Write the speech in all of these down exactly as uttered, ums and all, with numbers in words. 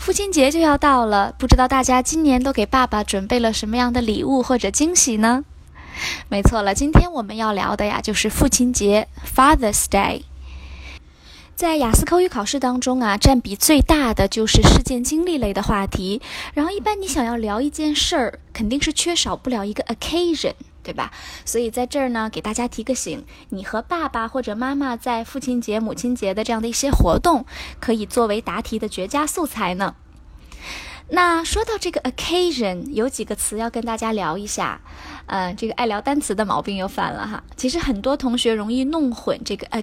父亲节就要到了，不知道大家今年都给爸爸准备了什么样的礼物或者惊喜呢？没错了，今天我们要聊的呀就是父亲节 Father's Day。在雅思口语考试当中啊，占比最大的就是事件经历类的话题。然后一般你想要聊一件事儿，肯定是缺少不了一个 occasion， 对吧？所以在这儿呢，给大家提个醒，你和爸爸或者妈妈在父亲节、母亲节的这样的一些活动，可以作为答题的绝佳素材呢。那说到这个 occasion， 有几个词要跟大家聊一下。呃，这个爱聊单词的毛病又犯了哈。其实很多同学容易弄混这个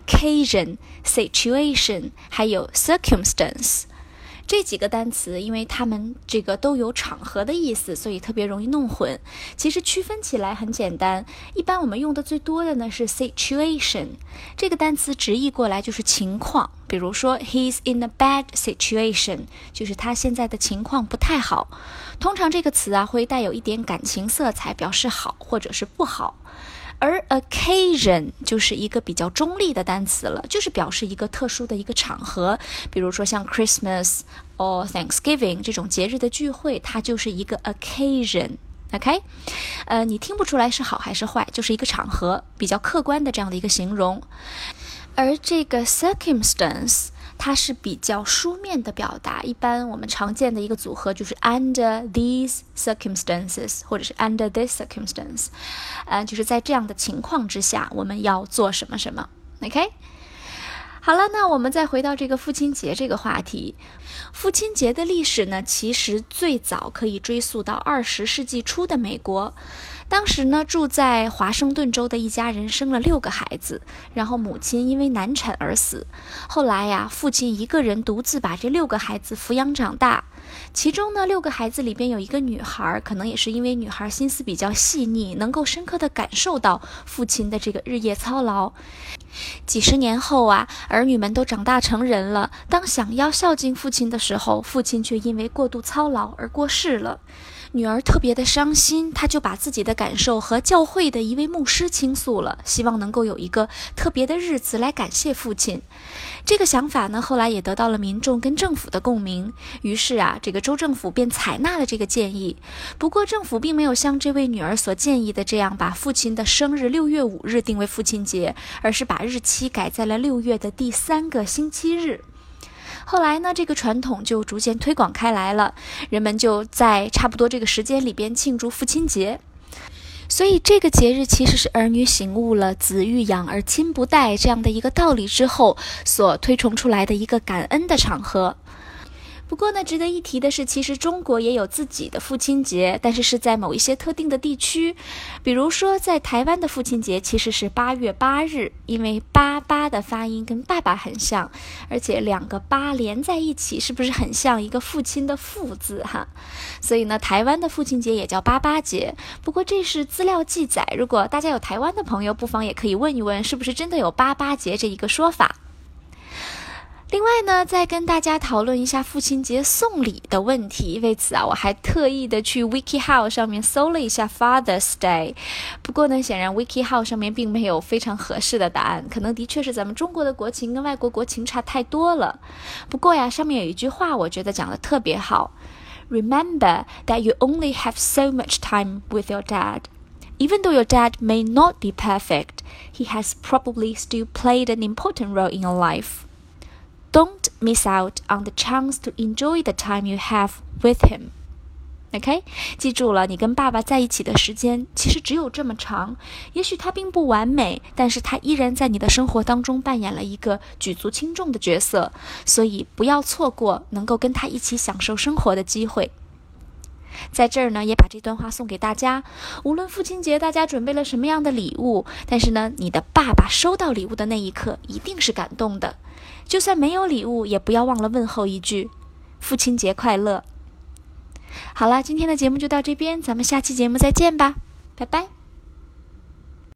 occasion、situation 还有 circumstance 这几个单词，因为它们这个都有场合的意思，所以特别容易弄混。其实区分起来很简单，一般我们用的最多的呢是 situation， 这个单词直译过来就是情况。比如说 he's in a bad situation， 就是他现在的情况不太好。通常这个词啊会带有一点感情色彩，表示好或者是不好。而 occasion 就是一个比较中立的单词了，就是表示一个特殊的一个场合，比如说像 Christmas or Thanksgiving 这种节日的聚会，它就是一个 occasion。OK， 呃，你听不出来是好还是坏，就是一个场合，比较客观的这样的一个形容。而这个 circumstance 它是比较书面的表达，一般我们常见的一个组合就是 under these circumstances 或者是 under this circumstance， 呃，就是在这样的情况之下我们要做什么什么。 OK， 好了，那我们再回到这个父亲节这个话题。父亲节的历史呢，其实最早可以追溯到二十世纪初的美国。当时呢，住在华盛顿州的一家人生了六个孩子，然后母亲因为难产而死。后来呀，父亲一个人独自把这六个孩子抚养长大。其中呢，六个孩子里边有一个女孩，可能也是因为女孩心思比较细腻，能够深刻地感受到父亲的这个日夜操劳。几十年后啊，儿女们都长大成人了，当想要孝敬父亲的时候，父亲却因为过度操劳而过世了。女儿特别的伤心，她就把自己的感受和教会的一位牧师倾诉了，希望能够有一个特别的日子来感谢父亲。这个想法呢，后来也得到了民众跟政府的共鸣，于是啊，这个州政府便采纳了这个建议。不过政府并没有像这位女儿所建议的这样把父亲的生日六月五日定为父亲节，而是把日期改在了六月的第三个星期日。后来呢，这个传统就逐渐推广开来了，人们就在差不多这个时间里边庆祝父亲节。所以这个节日其实是儿女醒悟了子欲养而亲不待这样的一个道理之后所推崇出来的一个感恩的场合。不过呢，值得一提的是，其实中国也有自己的父亲节，但是是在某一些特定的地区。比如说在台湾的父亲节其实是八月八日，因为八八的发音跟爸爸很像，而且两个八连在一起，是不是很像一个父亲的父字哈？所以呢，台湾的父亲节也叫八八节。不过这是资料记载，如果大家有台湾的朋友，不妨也可以问一问，是不是真的有八八节这一个说法。另外呢，再跟大家讨论一下父亲节送礼的问题。为此啊，我还特意的去 WikiHow 上面搜了一下 Father's Day。不过呢，显然 WikiHow 上面并没有非常合适的答案，可能的确是咱们中国的国情跟外国国情差太多了。不过呀，上面有一句话我觉得讲得特别好。Remember that you only have so much time with your dad. Even though your dad may not be perfect, he has probably still played an important role in your life.Don't miss out on the chance to enjoy the time you have with him. OK， 记住了，你跟爸爸在一起的时间其实只有这么长，也许他并不完美，但是他依然在你的生活当中扮演了一个举足轻重的角色，所以不要错过能够跟他一起享受生活的机会。在这儿呢，也把这段话送给大家。无论父亲节大家准备了什么样的礼物，但是呢，你的爸爸收到礼物的那一刻一定是感动的。就算没有礼物，也不要忘了问候一句父亲节快乐。好了，今天的节目就到这边，咱们下期节目再见吧，拜拜。